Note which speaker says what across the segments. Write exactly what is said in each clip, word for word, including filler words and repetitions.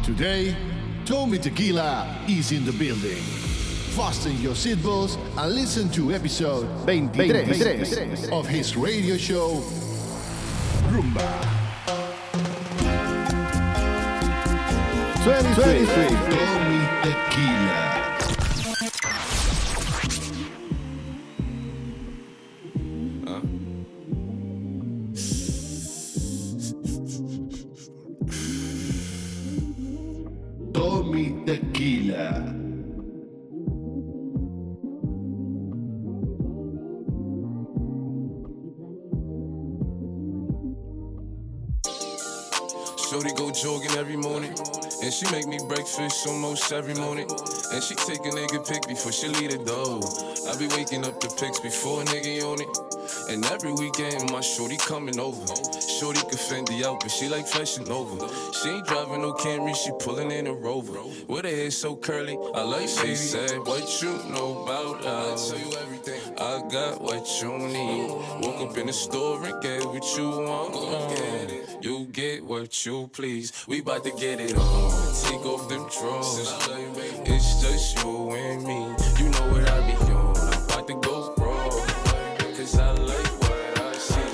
Speaker 1: Today, Tommy Tequila is in the building. Fasten your seatbelts and listen to episode twenty-three of his radio show, Rumba. twenty-three Tommy Tequila. Tommy Tequila.
Speaker 2: Shorty go jogging every morning, and she make me breakfast almost every morning. And she take a nigga pic before she leave the door. I be waking up the pics before a nigga on it. And every weekend my shorty coming over. Shorty can Fendi out, but she like Fashion Nova. She ain't driving no Camry, she pulling in a Rover. With her hair so curly, I like she said, what you know about us? I tell you everything. I got what you need. Woke up in the store and get what you want. Uh, you get what you please. We bout to get it on. Take off them drawers. It's just you and me. You know what I be on. I'm about to go wrong. Cause I like what I see.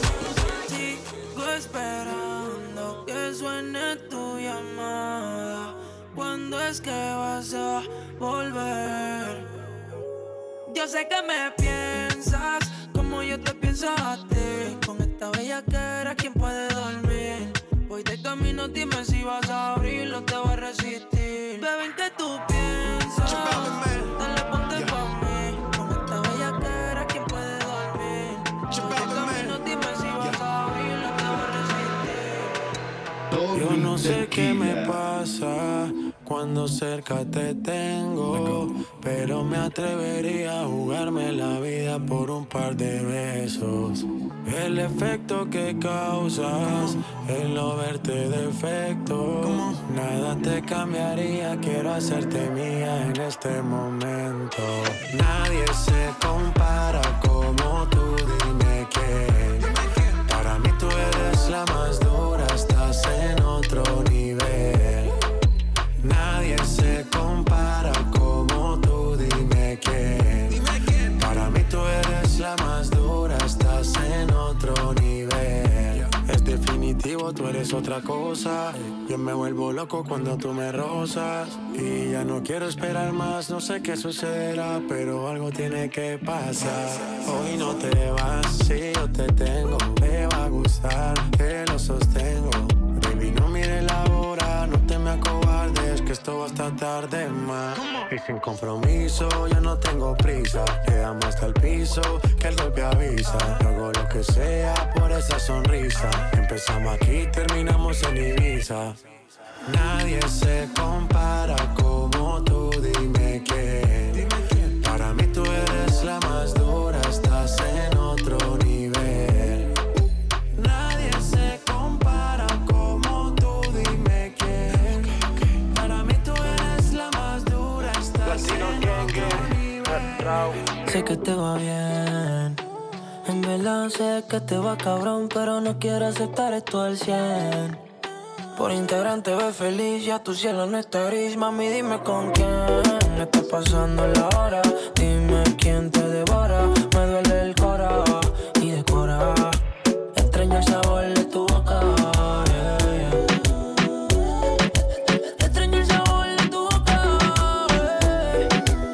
Speaker 3: Sigo esperando que suene tu llamada. ¿Cuándo es que vas a volver? Yo sé que me piensas como yo te pienso a ti. Con esta bellaquera, ¿quién puede dormir? Voy de camino, dime si vas a abrirlo, te voy a resistir. Bebé, ¿en qué tú piensas? Dale, ponte pa' mí. Con esta bellaquera, ¿quién puede dormir? Voy de camino, dime si vas a abrirlo, te voy a resistir.
Speaker 4: Yo no sé qué me pasa cuando cerca te tengo, pero me atrevería a jugarme la vida por un par de besos. El efecto que causas, el no verte defecto, nada te cambiaría, quiero hacerte mía en este momento. Nadie se compara como tú, dime quién. Para mí tú eres la más dura, estás en otro nivel. Nadie se compara como tú, dime quién. Dime quién. Para mí tú eres la más dura, estás en otro nivel. Es definitivo, tú eres otra cosa. Yo me vuelvo loco cuando tú me rozas. Y ya no quiero esperar más, no sé qué sucederá, pero algo tiene que pasar. Hoy no te vas, si yo te tengo, me va a gustar, que lo sostengo. Baby, no mires la hora, no te me acobardes, que esto va hasta tarde más. Y sin compromiso, yo no tengo prisa. Llegamos hasta el piso, que el golpe avisa. Yo hago lo que sea por esa sonrisa. Empezamos aquí, terminamos en Ibiza. Nadie se compara como tú, dime quién. Dime quién. Para mí tú eres la más dura, estás en otro nivel. Nadie se compara como tú, dime quién. Para mí tú eres la más dura, estás en otro nivel.
Speaker 3: Sé que te va bien, en verdad sé que te va cabrón, pero no quiero aceptar esto al cien. Por Instagram te ves feliz, ya tu cielo no está gris. Mami, dime con quién está pasando la hora. Dime quién te devora. Me duele el cora y decora. Extraño el sabor de tu boca, yeah, yeah. Extraño el sabor de tu boca, yeah.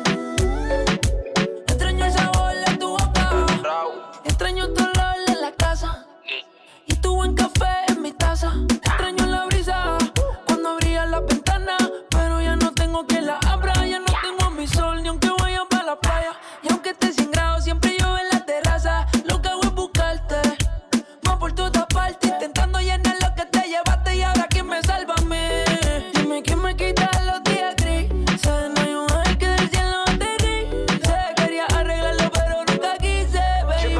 Speaker 3: Extraño el sabor de tu boca. Extraño tu olor en la casa y tu buen café en mi taza. Extraño la brisa cuando abría la ventana, pero ya no tengo quien la abra. Ya no tengo mi sol, ni aunque vaya para la playa. Y aunque esté sin grado, siempre llueve en la terraza. Lo que hago es buscarte, más por toda parte, intentando llenar lo que te llevaste. Y ahora quién me salva a mí. Dime quién me quita los días grises. No hay un ángel que del cielo aterrice. Quería arreglarlo pero nunca quise, baby.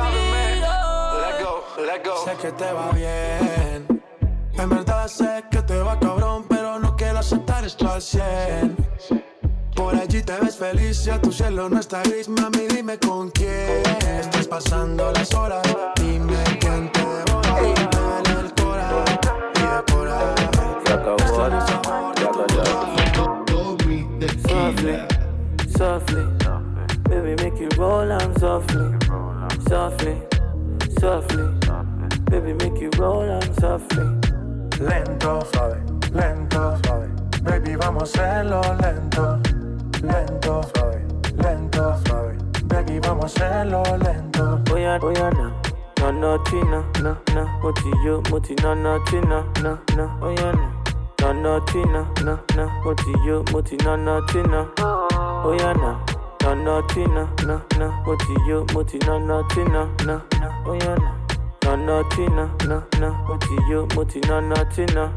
Speaker 3: Oh.
Speaker 4: Sé que te va bien, en verdad sé que te va cabrón, pero no quiero aceptar esto al cien. Por allí te ves feliz, ya tu cielo no está gris. Mami, dime con quién estás pasando las horas. Dime quién te devora. Me duele el cora y decora.
Speaker 5: Se acabó, se make it roll on softly.
Speaker 4: Lento, suave, lento, suave. Baby, vamos a hacerlo lento, lento, suave, lento, suave. Baby, vamos a hacerlo lento.
Speaker 5: Oye, oye, no, no, no, china, no, no. Moti yo, moti, no, no, china, no, no. Oye, no, no, no, china, no, no. Moti yo, moti, no, no, china. Oye, no, no, no, china, no, no. Moti yo, moti, no, no, china, no, no. Oye, no, no, no, china, no, no. Moti yo, moti, no, no, china.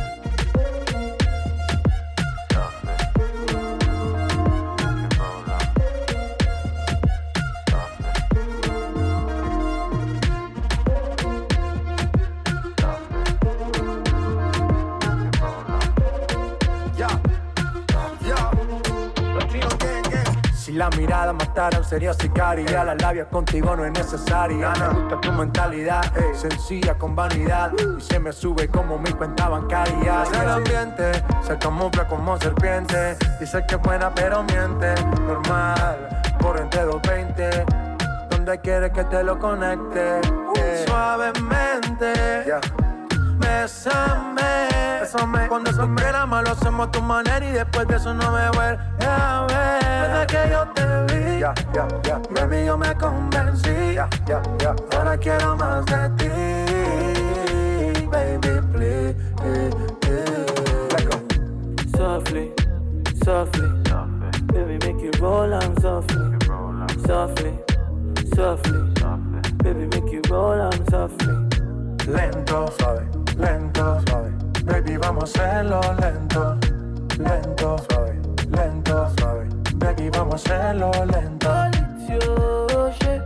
Speaker 4: Si la mirada matara, sería sicaria. La labia contigo no es necesaria. Me gusta tu mentalidad, ey, sencilla con vanidad. Y se me sube como mi cuenta bancaria. Es el ambiente, se camufla como serpiente. Dice que es buena pero miente. Normal, por entre doscientos veinte. Donde quieres que te lo conecte, eh. Suavemente, yeah. Bésame, bésame. Cuando se quiera mal lo hacemos a tu manera. Y después de eso no me vuelve a ver. Desde que yo te vi, yeah, yeah, yeah, baby, yo me convencí, yeah, yeah, yeah. Ahora quiero más de ti, baby, please, let go.
Speaker 5: Softly, softly, baby, make it roll on softly. Softly, softly, baby, make it roll on softly.
Speaker 4: Lento, suave, lento, suave. Baby, vamos a hacerlo lento, lento, suave, lento, suave. Baby, vamos a hacerlo lento.
Speaker 5: Yo, shake,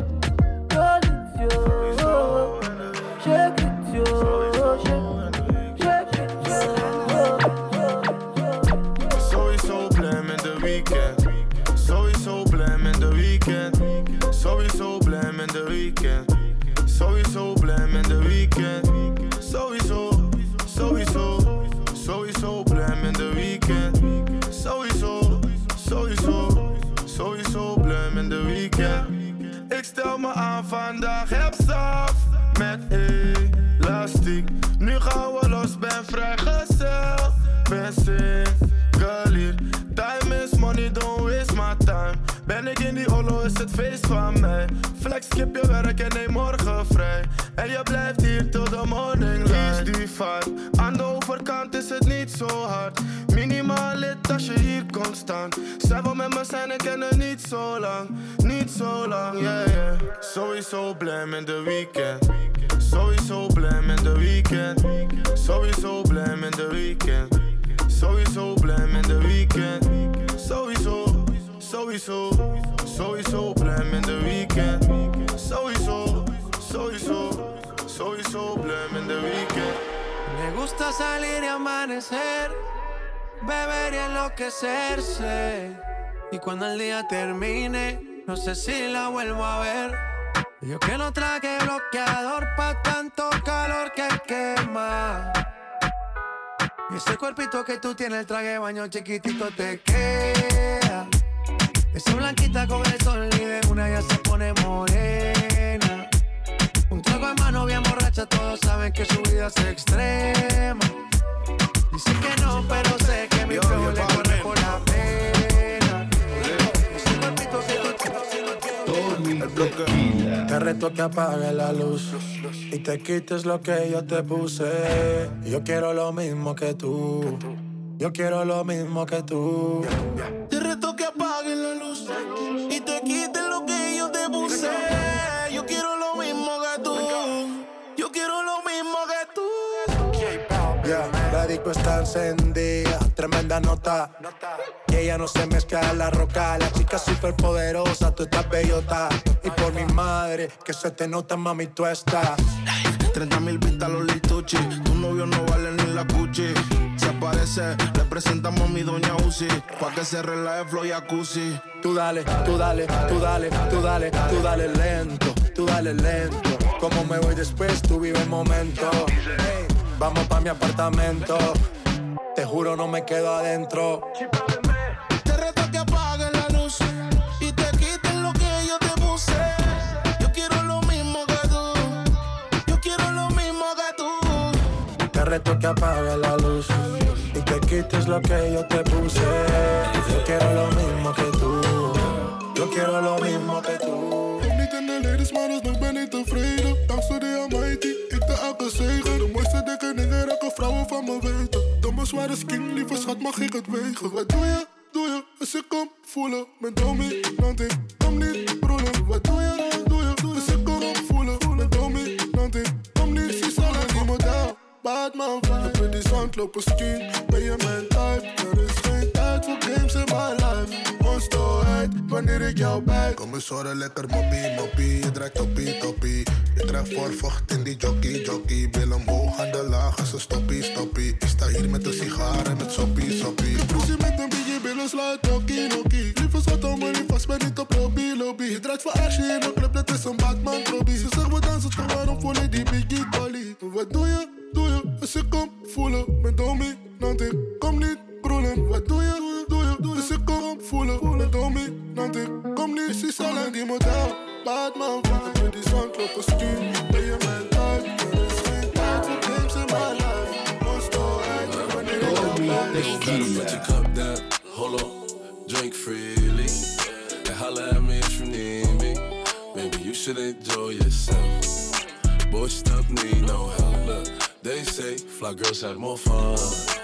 Speaker 5: yo, shake it, yo, shake it, yo.
Speaker 6: Sowieso blij met de weekend. Sowieso blij met de weekend. Sowieso blij met de weekend. Sowieso blij met de weekend. Sowieso, sowieso, sowieso blij met de weekend. Sowieso, sowieso, sowieso blij met de weekend. Ik stel me aan vandaag, heb staf met elastiek. Nu gaan we los, ben vrijgezel, ben single hier. Time is money, don't waste my time. Ben ik in die holo, is het feest van mij. Flex, skip je werk en neem morgen vrij. En je blijft hier tot de morning light. Kies die vibe, aan de overkant is het niet zo hard. Minimaal lid als je hier komt staan. Zij wil met me zijn en kennen niet zo lang. Niet zo lang, yeah, yeah. Sowieso blij met de weekend. Sowieso blij met de weekend. Sowieso blij met de weekend. Sowieso blij met de weekend. Sowieso, sowieso, sowieso blij met de weekend. Sowieso, sowieso, sowieso blij met de weekend.
Speaker 4: Me gusta salir y amanecer, beber y enloquecerse. Y cuando el día termine, no sé si la vuelvo a ver. Yo que no traje bloqueador pa' tanto calor que quema. Y ese cuerpito que tú tienes, el traje de baño chiquitito te queda. Esa blanquita con el sol y de una ya se pone morena. Un trago en mano bien borracha, todos saben que su vida es extrema. Dicen que no, pero sé que mi flow le corre por la pena. Ese cuerpito que tú tienes. Te reto que apagues la luz y te quites lo que yo te puse. Yo quiero lo mismo que tú. Yo quiero lo mismo que tú.
Speaker 6: Te reto que apagues la luz y te quites lo que yo te puse. Yo quiero lo mismo que tú. Yo quiero lo mismo que tú.
Speaker 4: Yeah, la disco está encendida, tremenda nota. Y ella no se mezcla en la roca. La chica super poderosa, tú estás bellota. Y por mi madre, que se te nota, mami, tú estás.
Speaker 6: treinta mil pistas los lituchi. Tu novio no vale ni la cuchi. Si aparece, le presentamos a mi doña Uzi. Pa' que se relaje flow jacuzzi.
Speaker 4: Tú dale, tú dale, tú dale, tú dale, tú dale lento, tú dale lento. Como me voy después, tú vive el momento. Hey, vamos pa' mi apartamento. Te juro no me quedo adentro.
Speaker 6: Te reto que apagues la luz y te quites lo que yo te puse. Yo quiero lo mismo que tú. Yo quiero lo mismo que
Speaker 4: reto que apague la luz y te quites lo que yo te puse. Yo quiero lo mismo que tú. Yo quiero lo mismo que tú.
Speaker 6: Ik niet in de ladies, maar dus nog ben ik tevreden. Dankzij de Almighty, ik de elke zegen. De mooiste dikke dingen raken vrouwen van me weten. Domme zware skin, lieve schat, mag ik het wegen. Wat doe je, doe je, als ik kom voelen. Mijn dominant, ik kom niet broelen. Wat doe je, doe je, als ik kom voelen. Mijn dominant, ik kom niet, zie zal en die model. Batman vibe, heb je die zandlopen skin. Ben je mijn type, er is geen tijd voor games in my life. Onstoheid, wanneer ik jou bij. Kom eens horen, lekker moppie, moppie. Je draait toppie, toppie. Je draait voorvocht in die jockey, jockey. Wil omhoog aan de laag als een stoppie, stoppie. Ik sta hier met een sigaar en met soppie, soppie. Ik proef je met een biggie, billen slaat, nokkie, nokkie. Lieve schat, hou me niet vast, ben niet op lobby, lobby. Je draait voor Asje in een club, dat is een Batman Robbie. Ze zegt we dansen, toch waarom voel ik die biggie dolly? Wat doe je, doe je, als ik kom voelen. Mijn dominant, ik kom niet broelen. Wat doe je, doe je, doe je, als ik kom voelen. Mijn dominant, ik kom niet, zie zal en die model. Batman vibe, heb je die zandlopen skin. Ben je mijn type, er is geen tijd voor games in my life. Onstoheid, wanneer ik jou bij.
Speaker 2: Gotta put your cup down, hold on, drink freely. And holla at me if you need me. Baby, you should enjoy yourself. Boy, stuff need no help. Look, they say fly girls have more fun.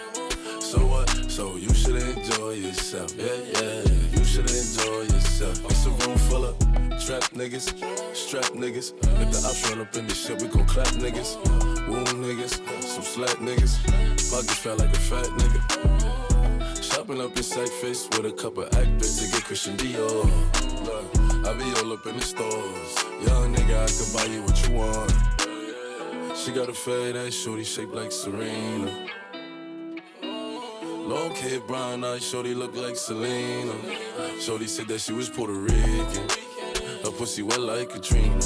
Speaker 2: So what? So you should enjoy yourself. Yeah, yeah, you should enjoy yourself. It's a room full of trap niggas, strap niggas. If the ops run up in this shit, we gon' clap niggas. Wound niggas, some slack niggas. Pockets felt like a fat nigga. Shopping up in sight face with a couple act bits to get Christian Dior. Look, I be all up in the stores. Young nigga, I can buy you what you want. She got a fade ass shorty shaped like Serena. Long hair, brown eyes, shorty look like Selena. Shorty said that she was Puerto Rican. Her pussy wet like Katrina.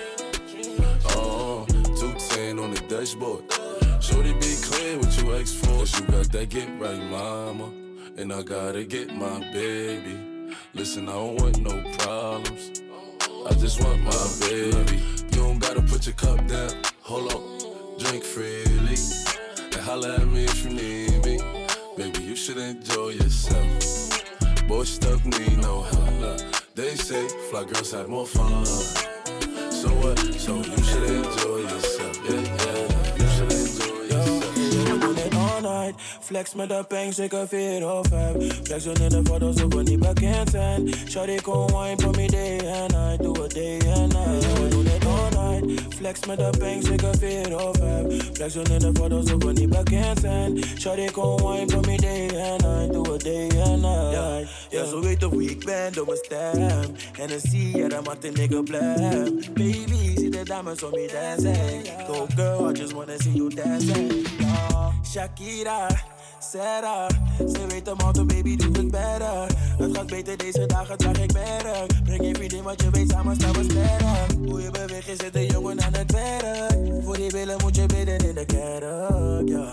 Speaker 2: Oh, two ten on the dashboard. Shorty be clear what you ask for. Cause you got that get right, mama. And I gotta get my baby. Listen, I don't want no problems. I just want my baby. You don't gotta put your cup down. Hold up, drink freely. And holla at me if you need me. Baby, you should enjoy yourself. Boy, stuff need no help. They say fly girls have more fun. So what? So you should enjoy yourself. Yeah, yeah, you should enjoy yourself.
Speaker 4: We doen het all night. Flex met de peng, zeker vier of vijf. Flexen in de foto's of we niet bekend zijn. Shawty kon wine for me day and night. Doe het day and night. We doen het all night. Flex met de peng, zeker vier of vijf. Flexen in de foto's of we niet bekend zijn. Shawty kon wine for me day and night. Doe het day and night. Ja, ja, zo weet hoe ik ben door mijn stem. En dan zie je dat maakt een nigga blem. Baby, zie de dames om me dancing. Go girl, I just wanna see you dancing. Oh, Shakira, Sarah, ze weet hem auto, baby, doe het better. Het gaat beter deze dagen, draag ik merk. Breng je vriendin, want je weet, samen staan we sterk. Hoe je beweegt, je zit een jongen aan het werk. Voor die billen moet je bidden in de kerk, ja.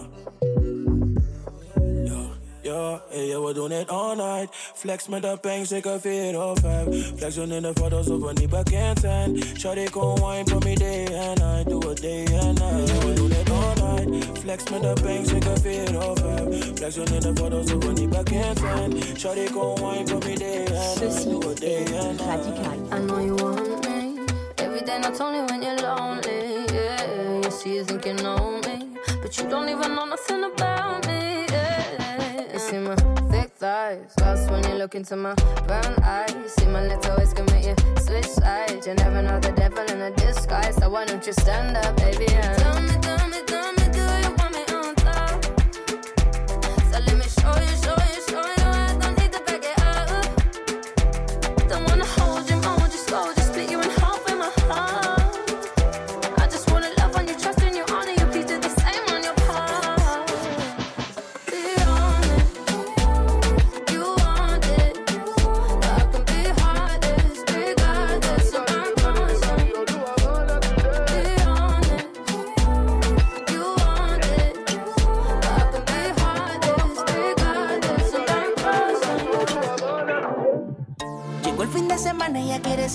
Speaker 4: Ja, hey, yeah, we doen het all night. Flex met de peng, zeker vier of vijf. Flexen in de foto's of we niet bekend zijn. Shawty kon wine for me day and night. Doe het day and night. Yeah, we doen het all night. Flex met de peng, zeker vier of vijf. Flexen in de foto's of we niet bekend zijn. Shawty kon wine for me day and night. Doe het day and night.
Speaker 7: I know you want me. Every day, not only when you're lonely. Yeah, you see you think you know me. But you don't even know nothing about me. Yeah. You see my thick thighs, lost when you look into my brown eyes. See my little ways can make you switch sides. You never know the devil in a disguise. So why don't you stand up, baby? And tell me, tell me, tell me, do you want me on top? So let me show you, show you, show you. I don't need to back it up. Don't wanna hold you, hold you slow, just split you in half in my heart. I just wanna love on you, trust in you, honor you, please do the same on your part. Be honest, you want it. I can be heartless, regardless, so I'm constant. Be honest, you want it. I can be heartless, regardless, so I'm constant.
Speaker 8: Llegó el fin de semana y ella quiere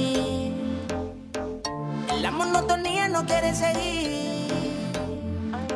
Speaker 8: salir. En la monotonía no quiere seguir.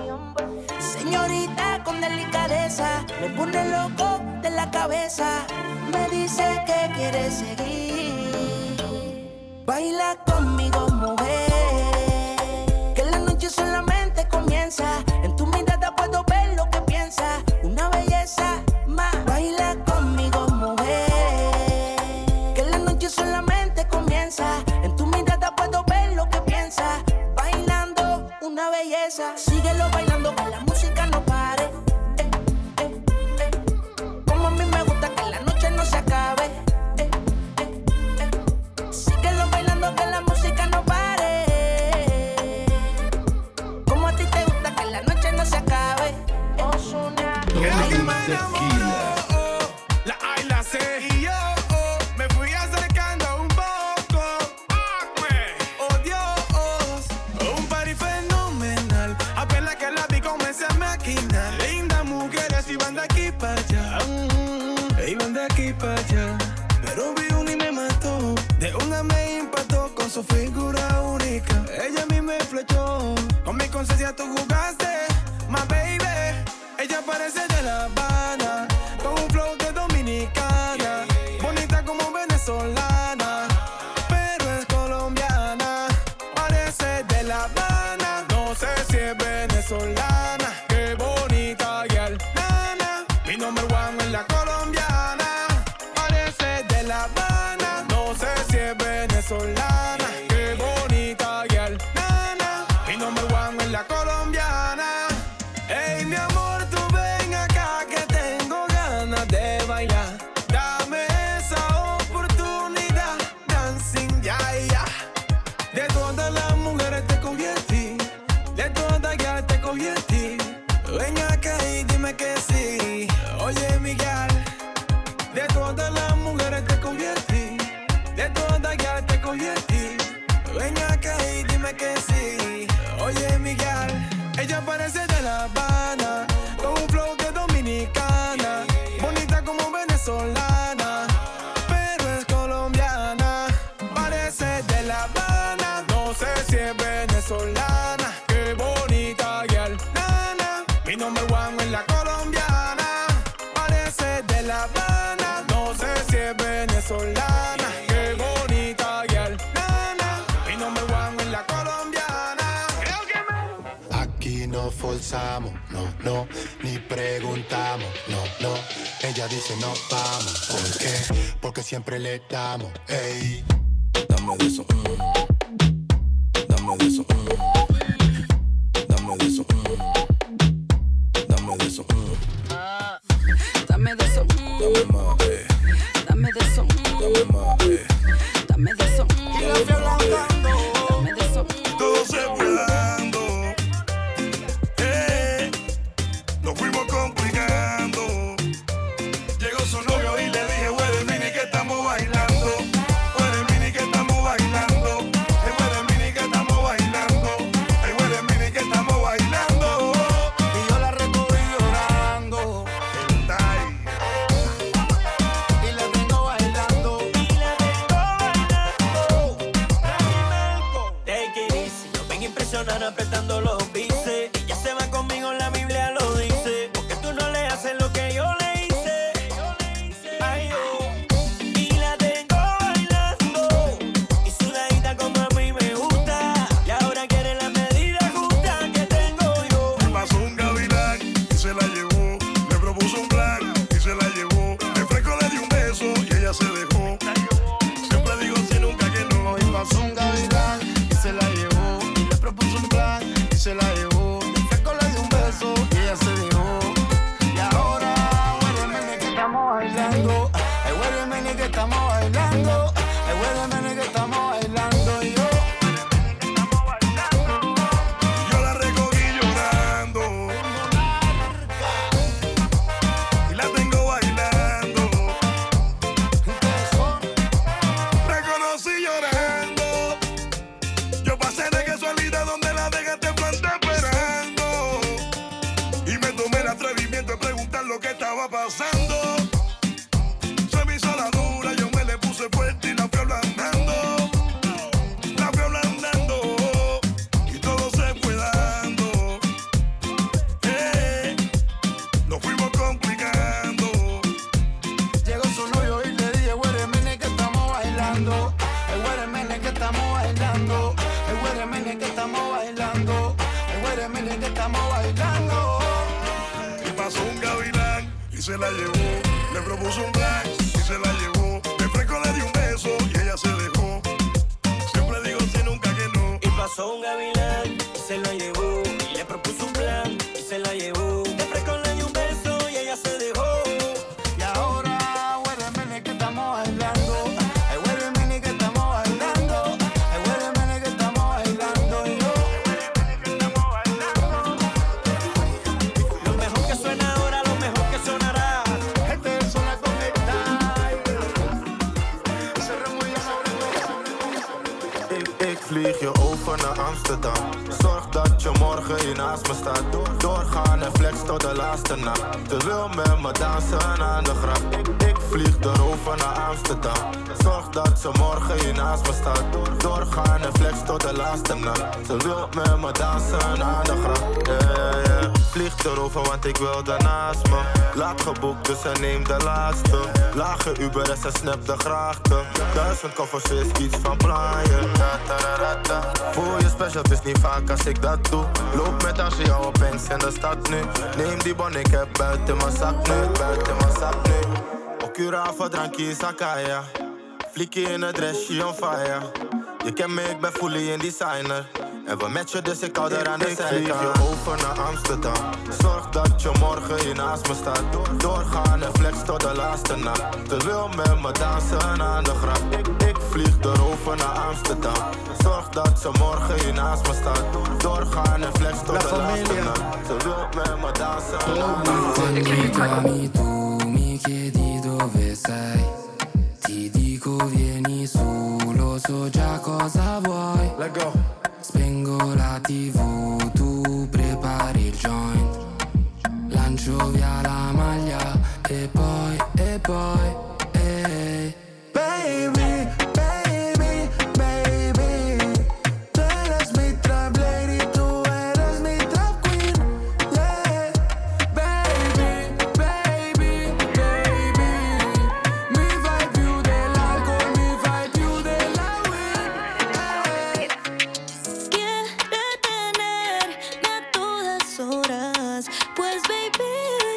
Speaker 8: besa, me pone loco de la cabeza. Me dice que quiere seguir. Baila conmigo, mujer, que la noche solamente comienza. En tu mirada puedo ver lo que piensas. Una belleza más. Baila conmigo, mujer, que la noche solamente comienza. En tu mirada puedo ver lo que piensas. Bailando, una belleza. Síguelo bailando, que la música no pare. Eh, eh, eh. Como a mí me gusta que la noche no se acabe. Eh, eh, eh. Síguelo bailando, que la música no pare. Como a ti te gusta que la noche no se acabe. Ozuna.
Speaker 1: Tequila.
Speaker 6: La A y la C y yo oh, me fui acercando un poco. Oh Dios, un party fenomenal. Apenas que la vi comencé a maquinar. Lindas mujeres iban de aquí para allá, mm, iban de aquí para allá. Pero vi una y me mató. De una me impactó con su figura única. Ella a mí me flechó. Con mi conciencia tú jugaste, my baby. Ella parece de La Habana, con un flow de dominicana, bonita como venezolana, pero es colombiana. Parece de La Habana, no sé si es venezolana. Qué bonita girl, nana, mi number one es la colombiana. Parece de La Habana, no sé si es venezolana. Qué bonita girl, nana, mi number one es la colombiana. Ey, mi amor, tú ven acá que tengo ganas de bailar. Dame esa oportunidad, dancing, ya, ya. De todas las mujeres te convertí, de todas ya te convertí. Ven acá y dime que sí. Oye, Miguel, de todas las mujeres te convertí, de todas ya te convertí. Ven acá y dime que sí. Oye, Miguel, ella parece de La Habana, con un flow de dominicana, bonita como venezolana, pero es colombiana. Parece de La Habana, no sé si es venezolana. Qué bonita girl, nana, mi number one es la colombiana. Parece de La Habana, no sé si es venezolana. Qué bonita girl, nana, mi number one es la colombiana.
Speaker 9: Aquí no forzamos, no, no, ni preguntamos, no, no. Ella dice no vamos, ¿por qué? Porque siempre le damos, ey.
Speaker 2: Dame de eso, mm. Dame de eso, mm. Dame de eso, mm. Dame de eso, mm.
Speaker 3: Dame de eso, mm.
Speaker 2: Dame más, eh.
Speaker 3: Dame de eso, mm.
Speaker 2: Dame más, eh.
Speaker 3: Dame de eso, mm.
Speaker 2: Dame más, eh.
Speaker 3: Dame de eso, mm.
Speaker 6: Todo se fue dando, eh, nos fuimos complicando. Llegó su novio y le dije, huele mini que estamos bailando. Huele mini que estamos bailando. Huele mini que estamos bailando. mire que estamos bailando. Y pasó un gavilán y se la llevó. Le propuso un plan y se la llevó. De fresco le dio un beso y ella se dejó. Siempre digo sí, nunca que no.
Speaker 10: Y pasó un gavilán y se la llevó. Y le propuso un plan y se la llevó. De fresco le dio un beso y ella se dejó.
Speaker 6: Y ahora, huele que estamos bailando. Ay, huele que estamos bailando. Ay, huele que estamos bailando. Y yo, que estamos bailando.
Speaker 10: Lo mejor que suena ahora, lo mejor que sonará.
Speaker 6: Este es zona conectada. Ze remoeien, ze remoeien.
Speaker 11: Ik, ik vlieg je over naar Amsterdam. Zorg dat je morgen hier naast me staat. Doorgaan en flex tot de laatste nacht. Ze wil met me dansen aan de grap. Ik, ik vlieg erover naar Amsterdam. Zorg dat ze morgen hier naast me staat. Doorgaan en flex tot de laatste nacht. Ze wil met me dansen aan de grap. Yeah, yeah, yeah. Vlieg erover want ik wil daarnaast me. Laat geboekt dus en neem de laatste. Lage Uber en ze snap de grachten. Duizend koffers is iets van plaaien. Voel je special, het is niet vaak als ik dat doe. Loop met als je jou opeens in de stad nu. Neem die bon, ik heb buiten mijn zak nu. Buiten mijn zak nu. Ocurava, drankje, zakaya. Flikkie in het dressje on fire. Je kent me, ik ben fully in designer. En we matchen, dus ik hou er aan de zijkant. Ik vlieg je over naar Amsterdam. Zorg dat je morgen hier naast me staat. Doorgaan en flex tot de laatste nacht. Ze wil met me dansen aan de grap. Ik, ik vlieg erover naar Amsterdam. Zorg dat ze morgen hier naast me staat. Doorgaan en flex tot de laatste nacht. Ze wil met me dansen aan de grap.
Speaker 12: Mi chiedi dove sei, ti dico vieni su, lo so già cosa vuoi.
Speaker 6: Let go.
Speaker 12: Spengo la tivù, tu prepari il joint. Lancio via la maglia e poi, e poi, ehi.
Speaker 6: Baby, baby, baby. Tú eres mi trap lady, tú eres mi trap queen. Yeah. Baby, baby, baby. Mi fai più dell'alcol, mi fai più della weed. Hey.
Speaker 13: Quiere tenerme a todas horas, pues baby,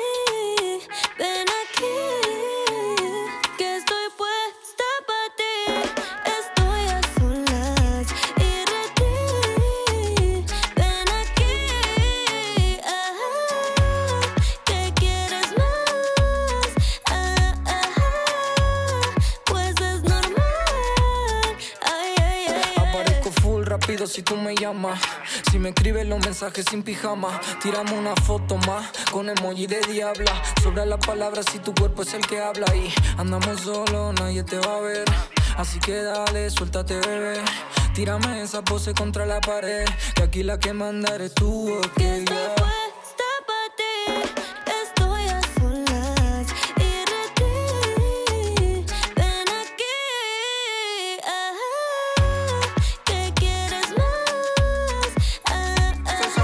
Speaker 13: ven aquí, que estoy puesta pa' ti. Estoy a solas y ready. Ven aquí, ah, que quieres más, ah, ah, pues es normal. Ay, ay, ay, ay.
Speaker 3: Aparezco full rápido si tú me llamas. Si me escribes los mensajes sin pijama, tiramos una foto más con emoji de diabla. Sobra las palabras si tu cuerpo es el que habla. Y andamos solos, nadie te va a ver. Así que dale, suéltate, bebé. Tírame esa pose contra la pared, que aquí la que manda eres tú, ok,
Speaker 13: Estoy
Speaker 3: yeah.
Speaker 13: puesta pa' ti, estoy a solas y ready. Ven aquí, ah, que quieres más, ah, ah, pues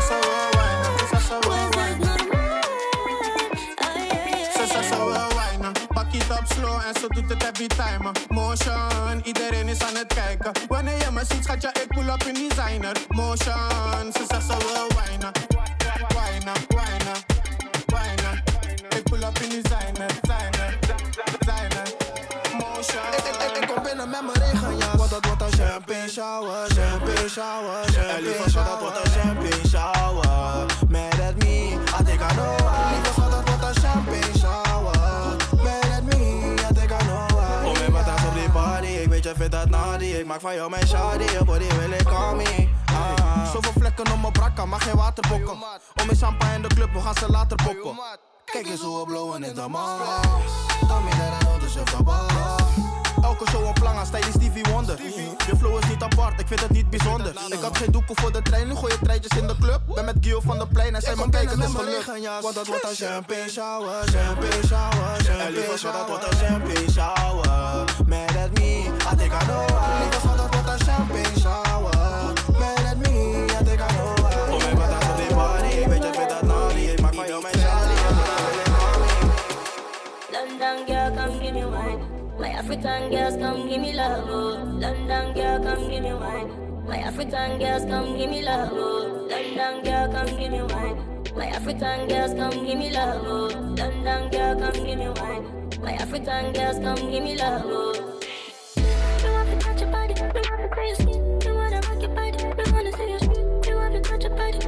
Speaker 13: es normal. Ay, ay,
Speaker 6: Ze
Speaker 13: ay,
Speaker 6: zegt ze wil wijnen, pak het op slow en ze doet het every time. Motion, iedereen is aan het kijken. Wanneer je me ziet, schat je, ik pull up in designer. Motion, ze zegt ze wil wijnen, wijnen, wijnen, wijnen. Ik pull up in designer, designer, designer. Motion. Ik, ik, ik, ik kom binnen met mijn regenjas, want dat wordt een champagne shower, champagne shower, champagne shower. Dat wordt een champagne shower. Mad at me, I think I know why. Lieve schat, dat wordt een champagne shower. Mad at me, I think I know why. Kom in mijn tas op die party, ik weet je vindt dat naughty. Ik maak van jou mijn shawty, je body wil ik call me. Ah. Zoveel vlekken op mijn brakka, maar geen waterpokken. Om mijn champagne in de club, we gaan ze later poppen. Kijk eens hoe we blowen in de man. Tell me that I know the shit about. Elke show een planga, stijl is Stevie Wonder. Je flow is niet apart, ik vind het niet bijzonder. Ik had geen doeken voor de trein, nu gooi je treintjes in de club. Ben met Gio van de plein en zij me kijken, het is gelukt. Want dat wordt een champagne shower, champagne shower, champagne shower. Dat wordt een champagne shower. Mad at me, I think I know why. Lieve schat, dat wordt een champagne shower. Mad at me, I think I know why. Kom in mijn tas op die party, ik weet je vindt dat naughty. Ik maak van jou mijn shawty, je body wil ik call me.
Speaker 13: London girl, come give me wine. My African girls, come give me love. Oh. London girl, come give me wine. My African girls, come give me love. Oh. London girl, come give me wine. My African girls, come give me love. Oh. London girl, come give me wine. My African girls, come give me love. Oh. You want to touch your body, you want to play your skin, you want to rock your body, you want to see your skin, you want to touch your body.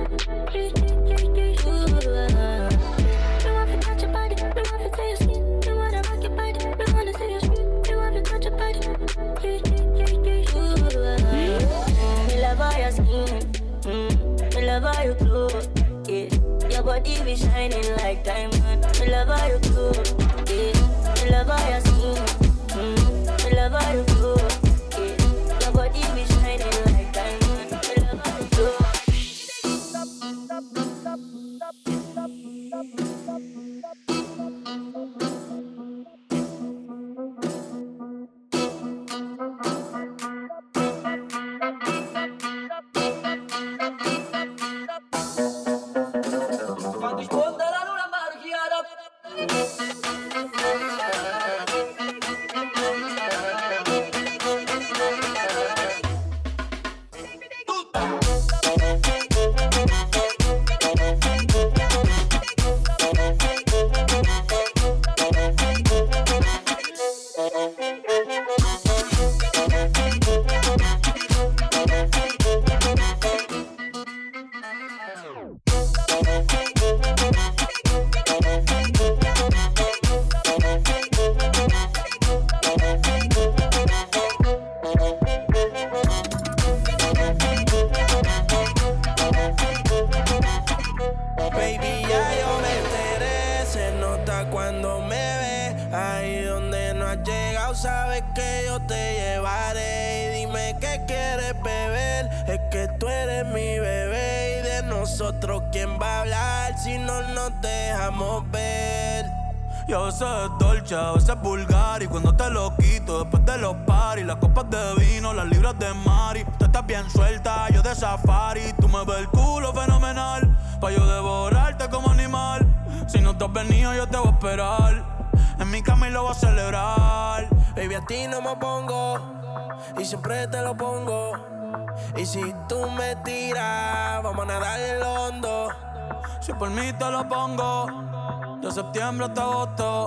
Speaker 13: Ooh, uh. You want to touch your body, you want to play your skin, you want to rock your body, you want to see your skin, you want to touch your body. Ooh, uh. Me love all your skin, mm. Me love all your clothes, yeah. Your body be shining like diamond. Me love all your clothes, yeah. Me love all your skin, mm. Me love all your clothes, yeah. Your body be shining like diamond. Me love all your clothes.
Speaker 14: Yo, ese es dolce, a veces es vulgar. Y cuando te lo quito, después de los paris, las copas de vino, las libras de Mari. Tú estás bien suelta, yo de safari. Tú me ves el culo fenomenal, pa' yo devorarte como animal. Si no te has venido, yo te voy a esperar. En mi cama y lo voy a celebrar.
Speaker 15: Baby, a ti no me pongo, y siempre te lo pongo. Y si tú me tiras, vamos a nadar en el hondo.
Speaker 14: Si por mí te lo pongo, de septiembre hasta agosto.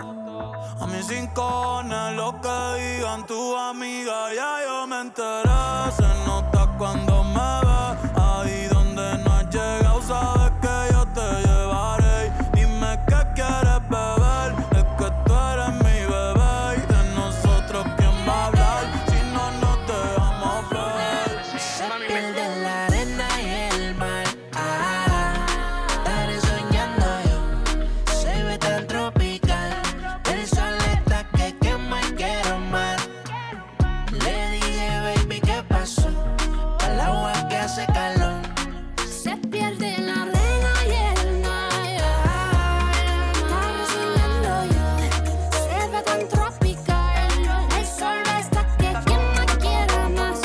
Speaker 14: A mis rincones, lo que digan tus amigas, ya yo me enteré. Se nota cuando me ves, ahí donde no has llegado, sabes que yo te llevaré. Dime qué quieres beber, es que tú eres mi bebé. Y de nosotros, ¿quién va a hablar? Si no nos dejamos ver.
Speaker 8: Se pierde la arena y el mar. Ah, estaré soñando yo. Se ve tan tropical. El sol está que quema y quiero más. Le dije, baby, ¿qué pasó? Al agua que hace calor.
Speaker 7: Se pierde la arena y el mar. Estaré soñando yo. Se ve tan tropical. El sol está que quema y quiero más.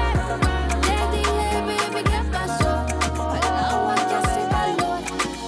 Speaker 7: Le dije, baby, ¿qué pasó? Al agua que hace calor.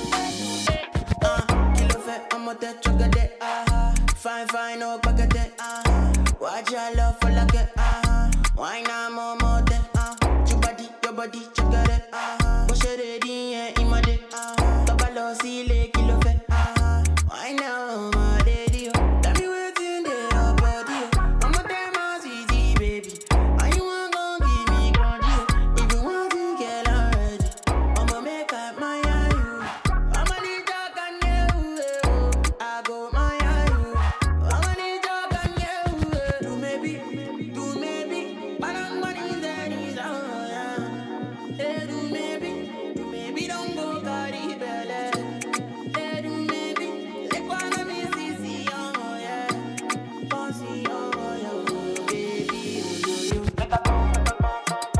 Speaker 8: Ah, kilo fait, I'ma te chocolate. Ah, fine, fine, no paquete. Ah, watch your love for like it. Ah, wine I'm on mote. Ah, your body, your body, chocolate. Ah, push it in and in my day. Ah, tabalo sile kilo fait. Ah, wine I'm my daddy. Tell me what's in there, body. I'm a damn sweetie, baby. How you want gon' give me control? If you want to get already, I'ma make up my eye. I'ma need talk on you. I go my eye. I'ma need talk on you. Do maybe, do maybe, but I'm money that is on ya. Eh, do maybe, do maybe don't go carry belly. Eh, do maybe, le quando mi si si oh yeah, oh si oh yeah, baby oh yo yo.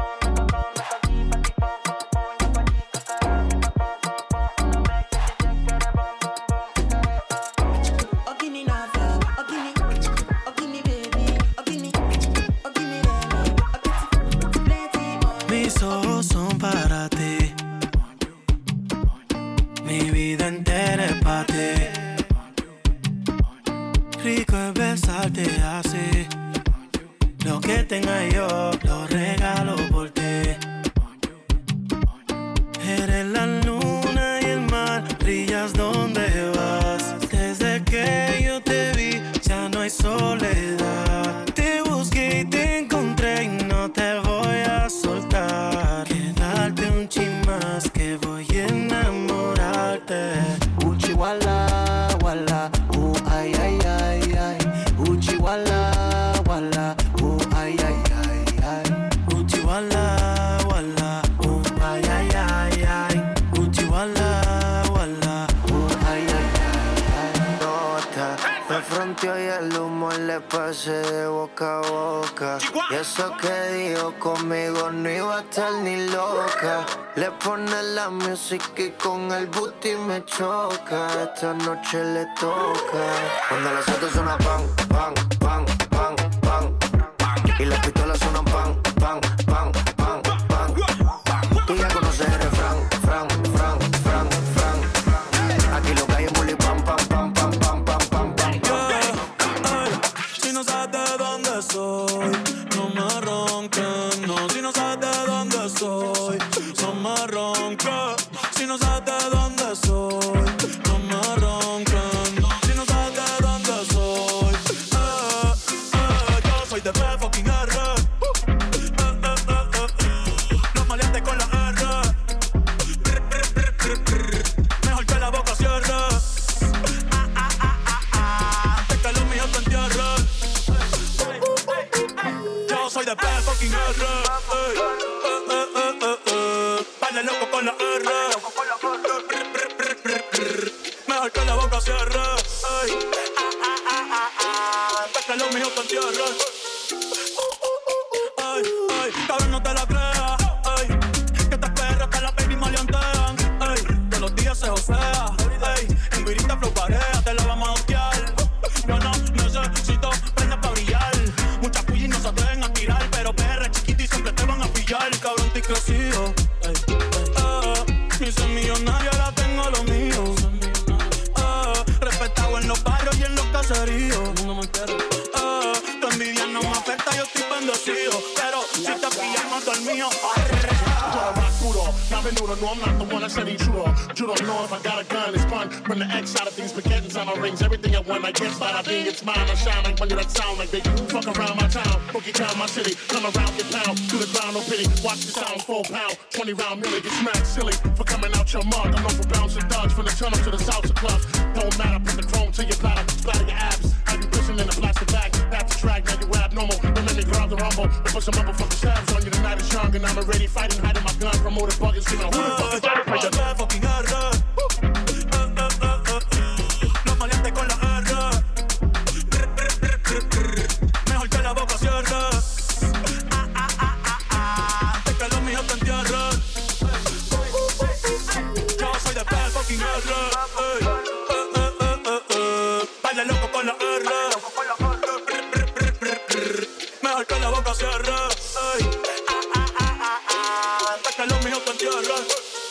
Speaker 8: Ogini na feel, ogini, ogini baby, ogini, ogini baby, ogini, plenty more.
Speaker 4: Mis ojos son para ti, mi vida entera es para ti. Rico es besarte así, lo que tenga yo lo regalo por ti. Eres
Speaker 15: darte. Uchi wala, wala, uh, ay, ay, ay, ay. Uchi wala, wala, uh, ay, ay, ay, ay. Uchi wala, wala, uh, ay, ay, ay, ay. Uchi wala, wala, uh, ay, ay, ay, ay.
Speaker 16: Nota, me fronteó y el humo le pasé de boca a boca. Y eso que dijo conmigo no iba a estar ni loca. Le pone la música y con el booty me choca. Esta noche le toca. Cuando las autos suenan pan, pan, pan, pan, pan, pan. Y las pistolas suenan pan, pan, pan, pan, pan. Tú ya conoces el refrán, fran, fran, fran, fran. Aquí lo que hay es bully, pam, pam, pam, pam, pam, pam, pam, pam.
Speaker 14: Si no sabes de dónde soy, no me ronques, no. Si no sabes de dónde soy, no me ronques. Si no sabes de dónde soy, no me ronques, no. Si no sabes de dónde soy, eh, eh, yo soy de B fucking R. Eh, eh, eh, eh, eh. Los maleantes con la R. Mejor que la boca cierre. Ah, ah, ah, ah, ah. Antes que los míos te entierren. Yo soy de B fucking R. Ey, eh, eh, eh, eh, eh. Baile loco con la R. Mejor que la boca cierre. Ey, ah, ah, ah, ah, ah. Antes que los míos te entierren. Ay, ay, cabrón, no te la creas. Ay, que estas perras que la baby maleantean. Ay, todos los días se josea. Ay, en guirita flow pareja, te la vamos a hostiar. Yo no necesito prendas pa' brillar. Muchas puyas no se atreven a tirar, pero perra chiquita y siempre te van a pillar. Cabrón, te crecido. Ay, ay, mi ser millonaria, ahora tengo lo mío. Ay, respetado en los barrios y en los caseríos. No me quiero. Ay, tu envidia no me afecta, yo estoy bendecido. Pero si te pillan, mato el mío.
Speaker 17: Now Menudo, no, I'm not the one that said he true. You don't know if I got a gun, it's fun. From the X side of things, spaghetti's on my rings. Everything I want, I get bada bing, it's mine. I shine like money that sound like they fuck around my town. Boogie town, my city. Come around, get pound. To the ground, no pity. Watch the sound, full pound. twenty round milli, get smacked silly. For coming out your mug, I'm known for bouncing thugs. From the tunnel to the salsa clubs. Don't matter, put the chrome to your platter. Splatter your abs. I be pushing in a plastic bag. Back to track, now you abnormal. Don't let me grab the rumble. I put some motherfucking stabs on you. The night is young and I'm already fighting, hiding my gun. Promoted buggers, you know who the fuck is that?
Speaker 14: Soy de B fucking R. Eh, eh, eh, eh. Los maleantes con la R. Mejor que la boca cierre. Ah, ah, ah, ah, ah. Antes que los míos te entierren. Yo soy de B fucking R. Ey, eh, eh, eh, eh, eh. Baile loco con la R. Mejor que la boca cierre. Ey, ah, ah, ah, ah, ah. Antes que los míos te entierren.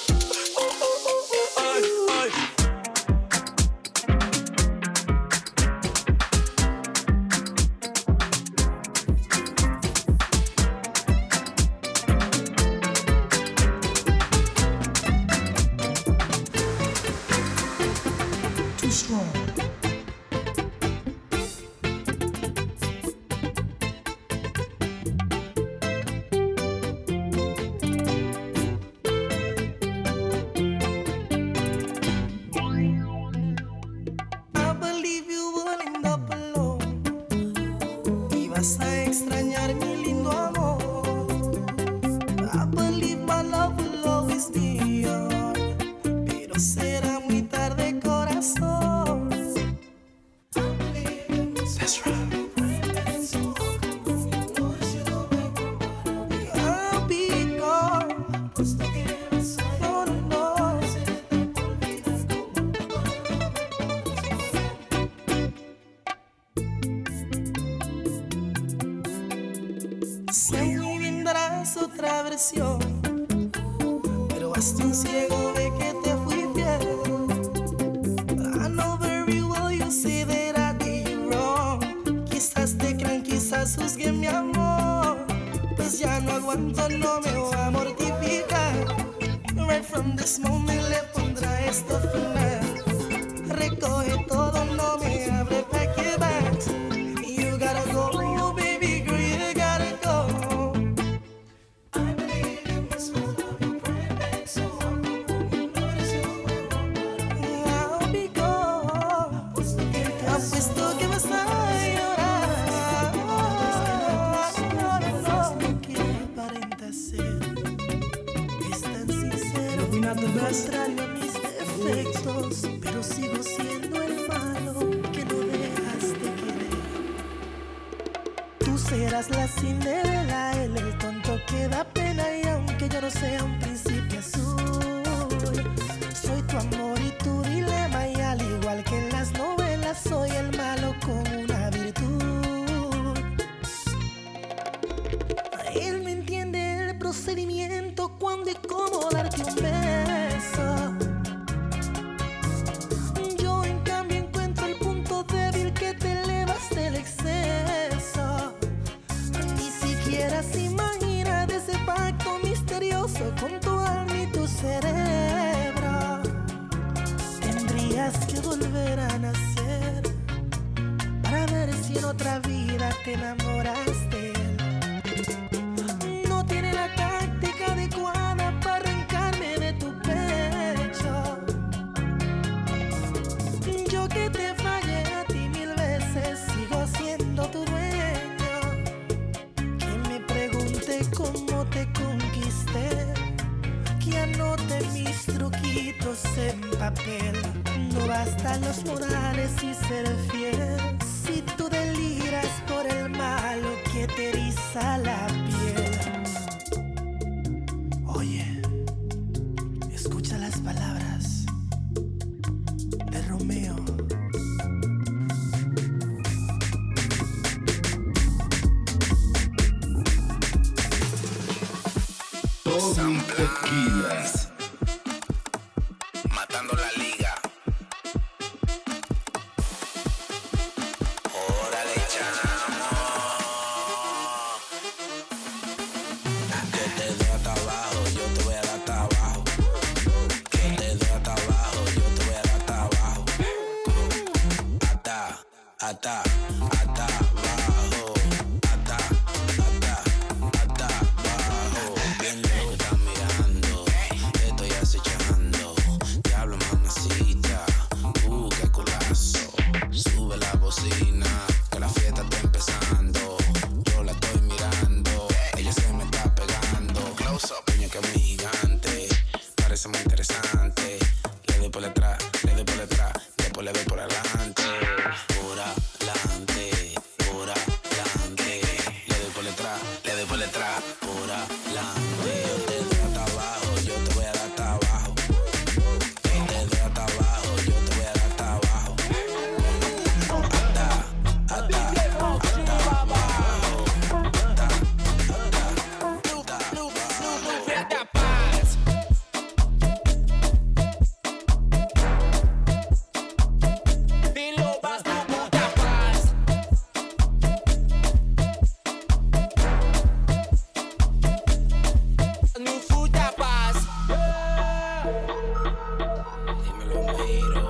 Speaker 15: Otra versión, pero hasta un ciego ve que te fui fiel. I know very well you say that I did you wrong. Quizás te crean, quizás juzguen mi amor. Pues ya no aguanto, no me voy a mortificar. Right from this moment le pondrá esto final. Recoge todo, no me abre, pack your bags. You gotta go, baby girl, you gotta go. contrario a mis defectos, pero sigo siendo el malo que no dejas de querer. Tú serás la Cinderela, él el tonto que da pena, y aunque yo no sea un príncipe azul, soy tu amor y tu dilema, y al igual que en las novelas soy el malo con una virtud. Él me entiende el procedimiento, cuándo y cómo darte un beso. Yo en cambio encuentro el punto débil, que te elevas del exceso. Ni siquiera se imagina de ese pacto misterioso con tu alma y tu cerebro. Tendrías que volver a nacer para ver si en otra vida te enamoras de él. No tiene la táctica adecuada para arrancarme de tu pecho. Yo que te fallé a ti mil veces, sigo siendo tu dueño. Que me pregunte cómo te conquisté, que anote mis truquitos en papel. No bastan los morales y ser fiel, si tú deliras por el malo que te eriza la piel. Oye, escucha las palabras de Romeo.
Speaker 1: Tommy Tequila.
Speaker 18: Matando la liga. Órale, chamo. Que te doy hasta abajo, yo te voy a dar hasta abajo. Que te doy hasta abajo, yo te voy a dar hasta abajo. Hasta, hasta, hasta abajo. Hasta, hasta, hasta abajo. Bien lejos están mirando, estoy acechando. Diablo, mamacita, uh, qué culazo. Sube la bocina, que la fiesta está empezando. Yo la estoy mirando, ella se me está pegando. Close up, puño que es muy gigante, parece muy interesante. Le doy por detrás, le doy por detrás, después le doy por adelante. Por adelante, por adelante. Le doy por detrás, le doy por detrás, por adelante. Yo te doy hasta abajo, yo te voy a dar hasta abajo. Yo te doy hasta abajo, yo te voy a dar hasta abajo. Hasta, hasta, hasta abajo. Hasta, hasta, hasta abajo. Dilo, vas tu puta paz. Mi puta paz. Dímelo, miro.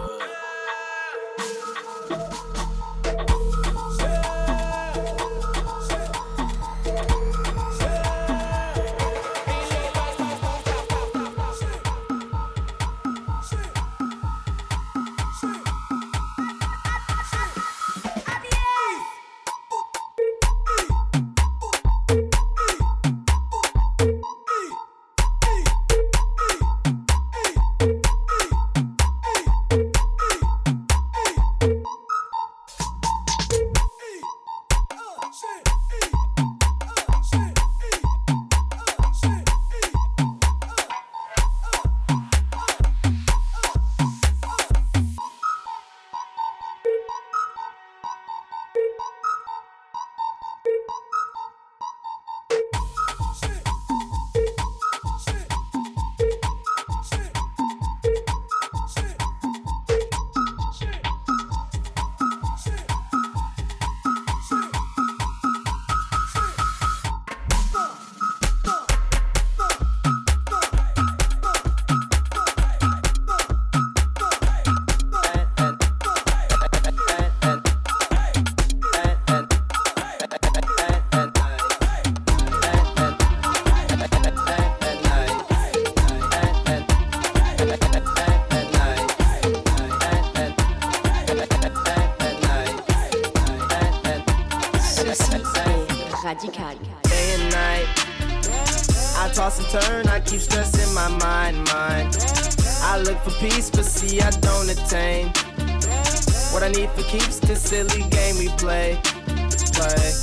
Speaker 19: Radical.
Speaker 20: Day and night, I toss and turn, I keep stressing my mind, mind.
Speaker 19: I look for peace, but see I don't attain. What I need for keeps this silly game we play. Play.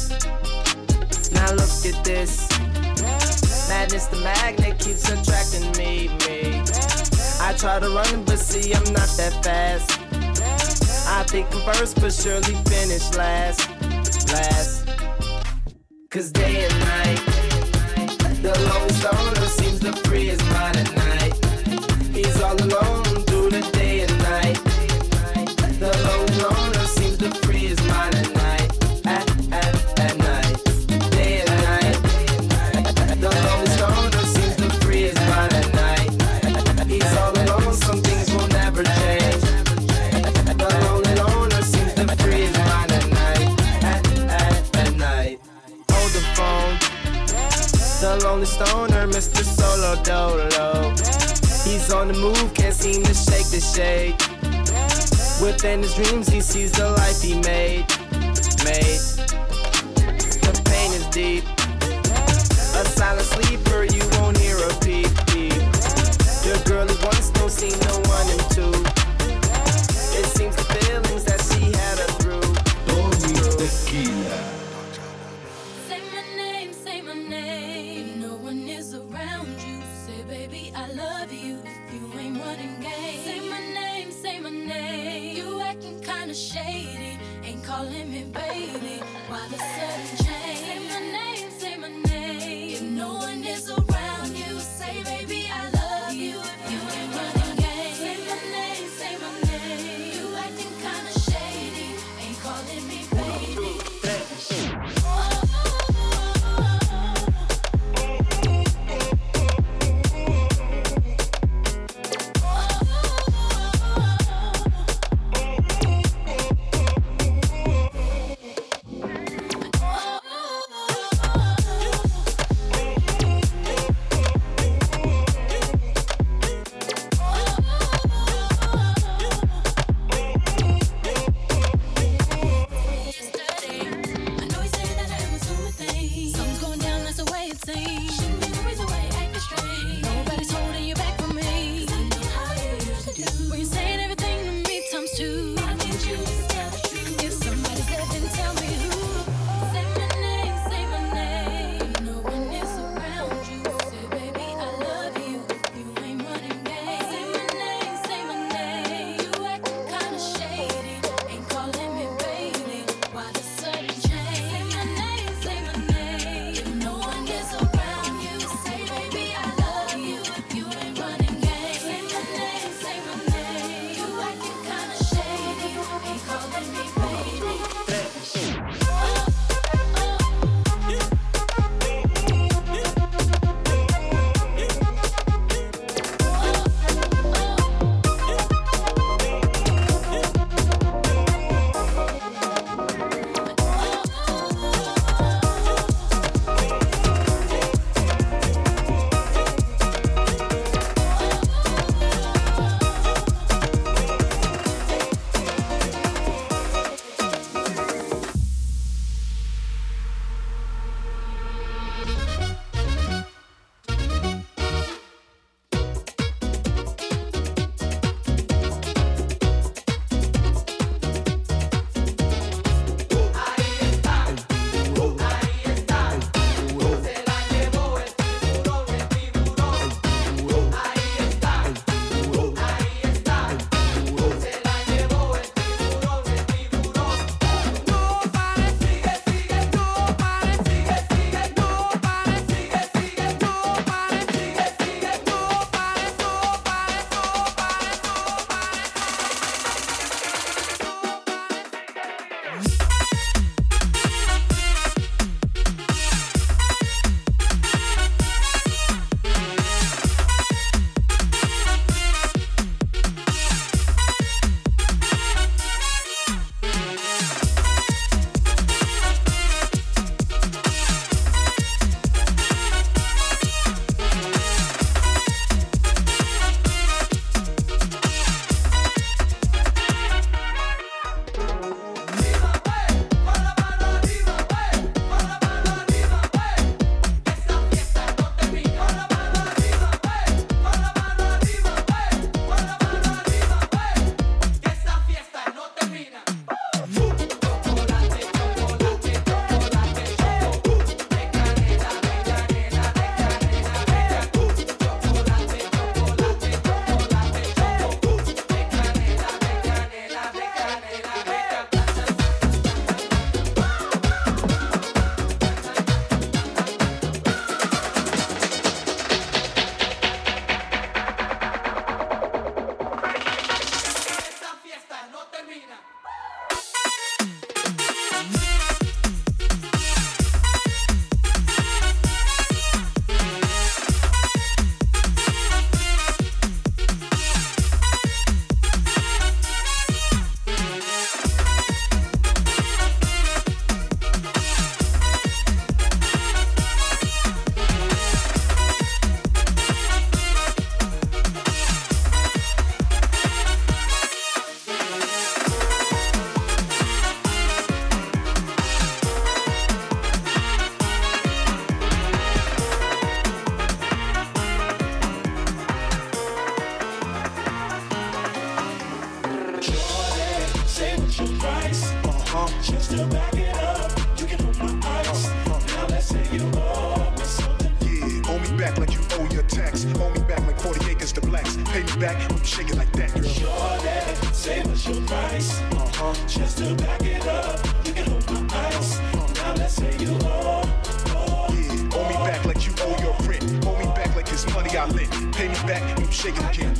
Speaker 19: Now look at this. Madness, the magnet keeps attracting me, me. I try to run, but see I'm not that fast. I think I'm first, but surely finish last, last. Cause day and night, the lonely stoner seems to free his mind at night. He's all alone through the day and night. The lonely loner seems to free his mind at night, at, at, at night. Day and night, the lonely stoner seems to free his mind at night. He's all alone, some things will never change. The lonely loner seems to free his mind at night, at, at, at night. Hold the phone, the lonely stoner, Mister Solo Dolo. He's on the move, can't seem to shake the shade. Within his dreams, he sees the life he made, made. The pain is deep. A silent sleeper, you won't hear a peep, peep. The girl he once don't see no one in two. It seems the feelings that she had her through.
Speaker 1: Tommy Tequila.
Speaker 3: Say my name, say my name. If no one is around you, say baby I love you. If you ain't running game, say my name, say my name. You acting kinda shady, ain't calling me baby. Why the sudden change? Say my name, say my name. If no one is around you, say baby I love you. If you ain't running game, say my name, say my name. You acting kinda shady, ain't calling me baby. Say my name,
Speaker 20: Just to back it up, you can hold my ice. Now let's say you owe me something.
Speaker 21: Yeah, owe me back like you owe your tax. Owe me back like forty acres to blacks. Pay me back when you shake it like that, girl.
Speaker 20: Shorty, say what's your price? Uh-huh. Just to back it up, you can hold my ice. Now let's say you owe.
Speaker 21: Yeah, owe me back like you owe your rent. Owe me back like it's money I lent. Pay me back when you shake it again.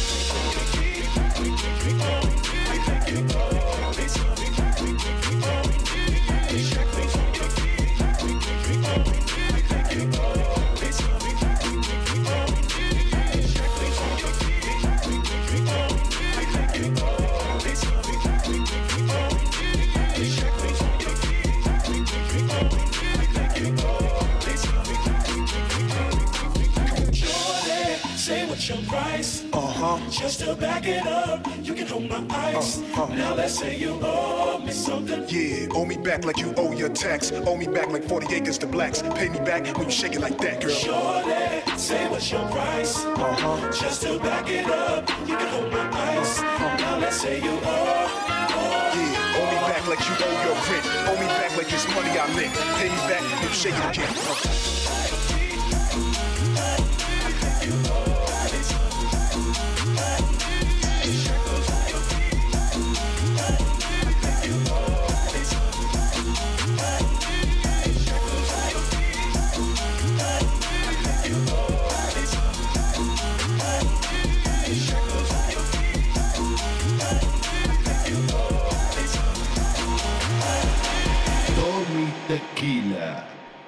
Speaker 20: Say what's your price?
Speaker 21: Uh-huh.
Speaker 20: Just to back it up, you can hold my ice.
Speaker 21: Uh, uh.
Speaker 20: Now let's say you owe me something.
Speaker 21: Yeah, owe me back like you owe your tax. Owe me back like forty acres to blacks. Pay me back when you shake it like that, girl.
Speaker 20: Shorty, say what's your price?
Speaker 21: Uh-huh.
Speaker 20: Just to back it up, you can hold my ice. Uh, now let's say you owe.
Speaker 21: Yeah, owe me back like you owe your rent. Owe me back like it's money I lent. Pay me back when you shake it again. Uh.
Speaker 1: Tequila.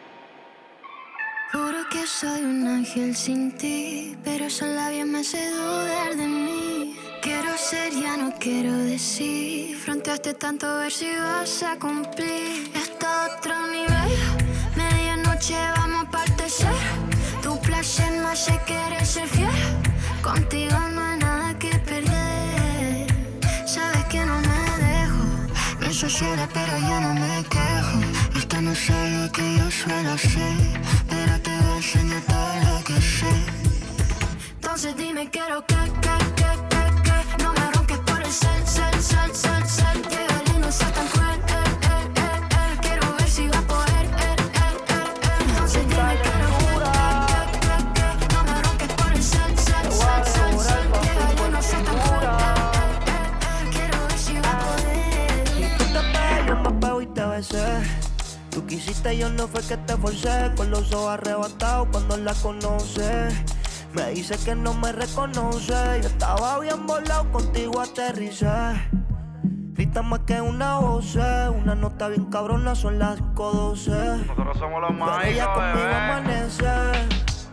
Speaker 7: Juro que soy un ángel sin ti, pero esos labios me hacen dudar de mí. Quiero ser, ya no quiero decir. Fronteaste tanto a ver si vas a cumplir. Esto a otro nivel. Medianoche vamos a partecer. Tu placer me hace querer ser fiel. Contigo no hay nada que perder. Sabes que no me dejo. Me hizo sola pero yo no me quejo. Esto no es algo que yo suelo hacer, pero te voy a enseñar todo lo que sé. Entonces dime quiero que, que, que, que, que no me ronques por el cel, cel, cel, cel, cel. Llegale y no seas tan cruel, eh, eh, eh, eh. Quiero ver si va a poder, eh, eh, eh, eh. Entonces dime quiero que, que, que, que no me ronques por el cel, cel, cel, cel, cel. Llegale y no seas tan cruel, eh, eh, eh. Quiero ver si va a poder.
Speaker 22: Y tú te pegas, yo me pego y te besé. Tú quisiste, yo no fue que te forcé. Con los ojos arrebatados cuando la conoces. Me dice que no me reconoce. Yo estaba bien volado, contigo aterricé. Grita más que una voz, una nota bien cabrona, son las cinco doce.
Speaker 23: Nosotros somos los más
Speaker 22: ella conmigo amanece.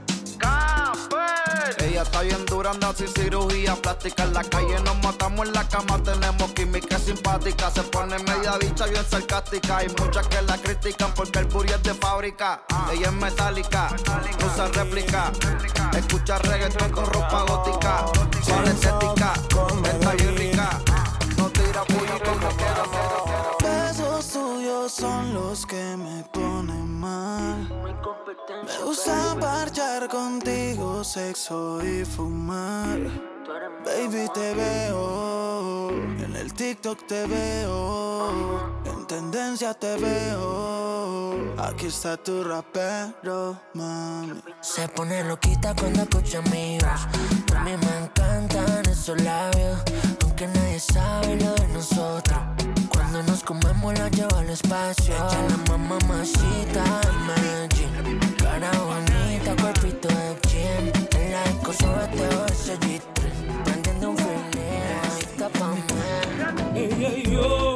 Speaker 23: Ella está bien dura, anda sin cirugía plástica. En la calle nos matamos, en la cama tenemos química simpática. Se pone media bicha bien sarcástica. Hay muchas que la critican porque el booty es de fábrica. Ella es metálica, usa réplica. Escucha reggaetón con ropa gótica. Suave estética, está bien rica. No tira puño como quiera.
Speaker 24: Besos tuyos son los que me ponen mal. Me gusta parchar contigo, sexo y fumar. Baby, te veo, en el TikTok te veo, en tendencia te veo. Aquí está tu rapero, mami.
Speaker 25: Se pone loquita cuando escucha mi voz. A mí me encantan esos labios, aunque nadie sabe lo de nosotros. Cuando nos comemos la llevo al espacio. Ella la mamacita en Medellín. Cara bonita, cuerpito de gym. En la disco sobre todo ese G tres. Prendiendo un feeling, adicta pa' mí.
Speaker 26: Ella y yo,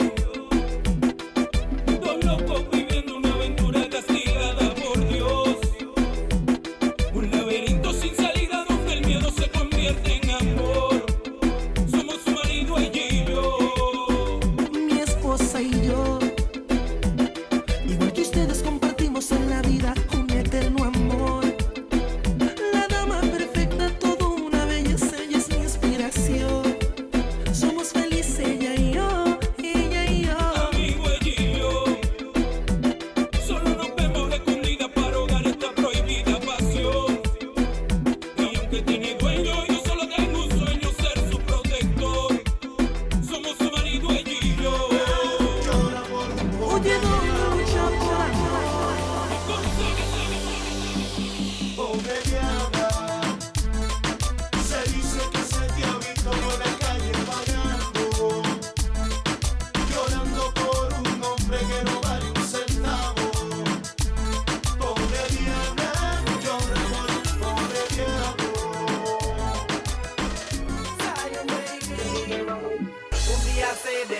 Speaker 26: dos locos viviendo una aventura castigada por Dios. Un laberinto sin salida donde el miedo se convierte en amor. Somos su marido, ella y yo.
Speaker 15: Mi esposa y yo, igual que ustedes compartimos en la vida un eterno amor. La dama perfecta, todo una belleza, ella es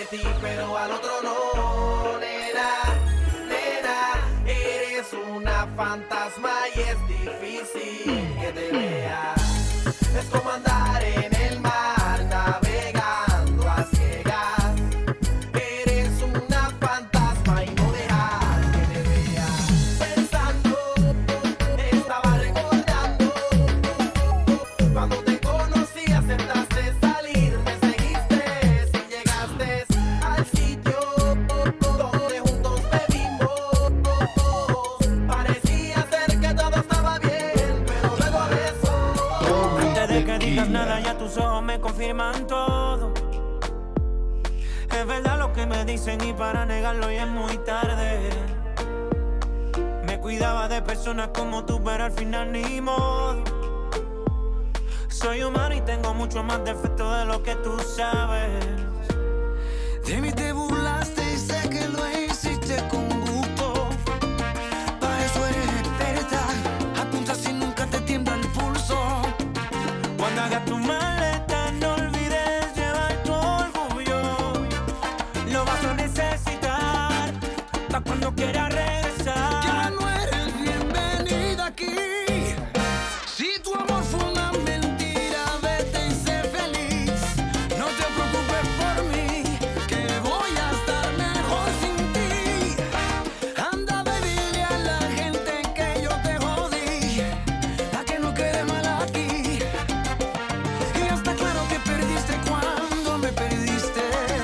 Speaker 2: ti, pero al otro no, nena, nena, eres una fantasma y es difícil que te vea. Es como andar en el mar, navegando a ciegas. Eres una fantasma y no dejas que te vea. Pensando, estaba recordando cuando te conocí, aceptaste salir, me seguiste y llegaste al sitio donde juntos bebimos. Parecía ser que todo estaba bien, pero luego de eso,
Speaker 5: antes de que digas nada, ya tus ojos me confirman todo. Es verdad lo que me dicen y para negarlo ya es muy tarde. Me cuidaba de personas como tú, pero al final ni modo. Soy humano y tengo mucho más defectos de lo que tú sabes.
Speaker 9: De mí te burlaste y sé que lo hiciste con gusto. Para eso eres experta, apuntas y nunca te tiembla el pulso.
Speaker 5: Cuando hagas tu maleta no olvides llevar tu orgullo. Lo vas a necesitar para cuando quieras regresar.
Speaker 9: Ya no eres bienvenida aquí. Si tu amor fue una mentira, vete y sé feliz. No te preocupes por mí, que voy a estar mejor sin ti. Anda, baby, a la gente que yo te jodí, a que no quede mal aquí. Y ya está claro que perdiste cuando me perdiste,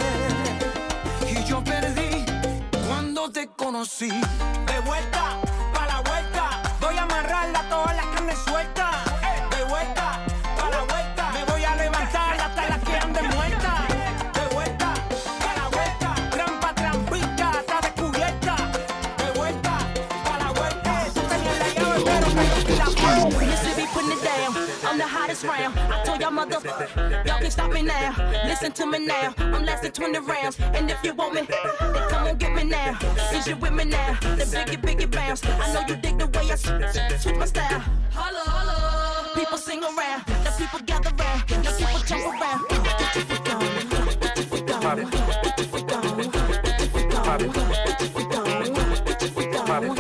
Speaker 9: y yo perdí cuando te conocí.
Speaker 5: De vuelta, pa' la vuelta, voy a amarrarla todas las carnes sueltas. De vuelta, pa' la vuelta, me voy a levantar hasta las que anden muertas. De vuelta, pa' la vuelta, trampa, trampita, está descubierta. De vuelta, pa' la vuelta, tú tenías la llave, pero me rompí la puerta.
Speaker 3: Used to be putting it down, I'm the hottest round. I told y'all mother, y'all can't stop me now. Listen to me now, I'm lasting twenty rounds. And if you want me, then come on get me now. Is you with me now? The biggie, biggie bounce. I know you dig the way I switch my style. Holla, holla. People sing around, now people gather round, now people jump around. Put your foot down, put your foot down, put your foot down, put your foot down, put your foot down, put your foot down, put your foot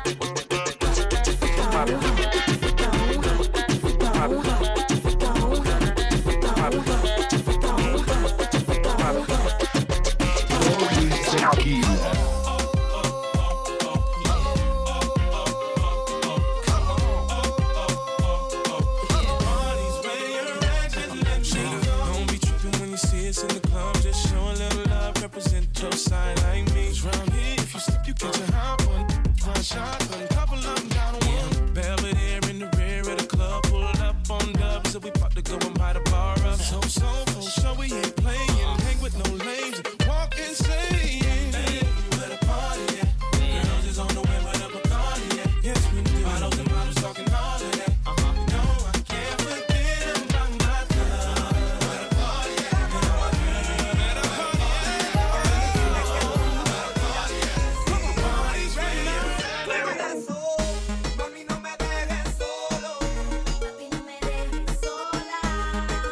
Speaker 4: Don't be tripping when you see us in the club. Just show a little love, represent your side like me. Round here, if you slip, you catch a hot one. One shot, a couple of them down on one. Belvedere in the rear of the club, pulled up on dubs, so we pop to go and buy the bar up. So, so, for sure we ain't playing. Hang with no lames, walk insane. Hey, where the party at? Girls is on the way, where the Bacardi at? Yes, we do. Bottles and bottles talking all of that. Uh-huh. No, I can't forget about my love. Where the party at? Where the party at? Where the party at? Party's ready.
Speaker 2: mami, no me dejes solo. Papi, no me dejes sola.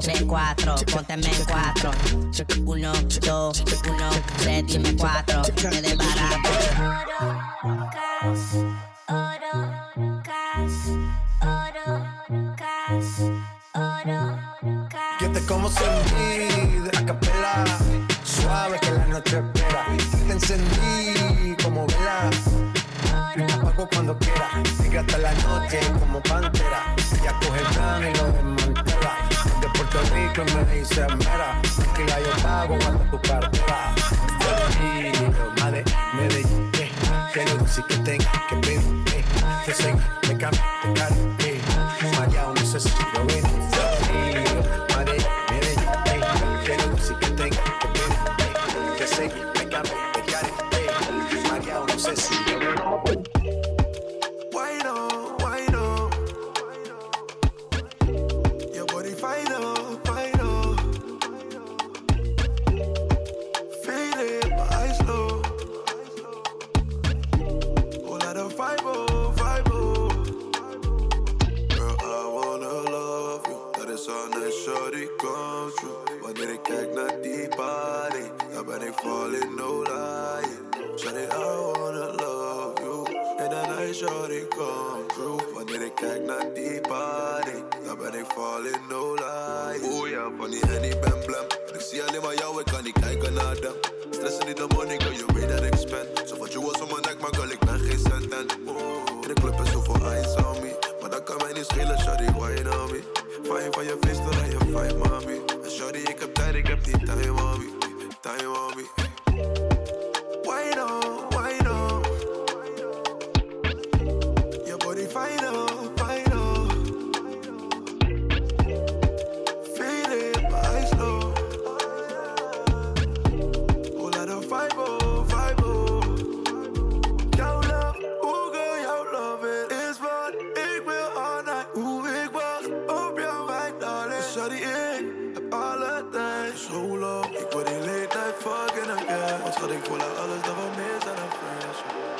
Speaker 6: tres, cuatro, pónteme en cuatro. Uno, dos, uno, tres, dime cuatro. Me desbarato.
Speaker 25: Oro, cash, oro, cash, oro, cash, oro, cash.
Speaker 8: Yo te como sin mí, de la capela. Suave que la noche espera. Te encendí como vela. Te apago cuando quiera. Sigue hasta la noche como pantera. Ella coge el plano y lo desmantela. De Puerto Rico y me dice mera. Tranquila yo pago cuando tu cartera. Y madre, Medellín, eh. Que lo dulce que tenga que pedir, eh. Te seguí, me cambio, te cargo, eh. María, no sé si lo ven. Madre, Medellín, eh. Que lo dulce que tenga que pedir, eh. Te seguí, me cambio, te cargo, eh. María, no sé si lo ven.
Speaker 24: Why no, why no? Your body fine up, fine up. Feel it, my eyes low. Whole lot of vibe, oh, vibe, oh. Girl, I wanna love you. Dat is al net shorty come true. Wanneer ik kijk naar die body, dan ben ik falling, no lie. Shorty, I wanna love you. En dan hij shorty come true. Wanneer ik kijk naar die body, dan ben ik falling, no lie. Oeh ja, van die Henny ben blem. Ik zie alleen maar jou, ik kan niet kijken naar them. Stressen niet de money, girl, you weet dat ik spend. Zo wat je was om mijn nek, maar girl, ik ben geen cent. En oh, in de club is zoveel eyes on me. Maar dat kan mij niet schelen, shorty, wine on me. Fijn van je face, dan je fijn, mami. En shorty, ik heb tijd, ik heb die time on me. Time on me. Wine on, wine on. Your body fine up, fine up. Feel it, my eyes low. Whole lot of vibe, oh, vibe, oh. Jouw love, ooh girl, jouw love, it is wat ik wil all night. Oeh, ik wacht op jouw wijk, darling. Shawty, ik heb alle tijd. Solo, ik word in late night fucking again. Want schat, ik voel aan alles dat we mis aan een friendship.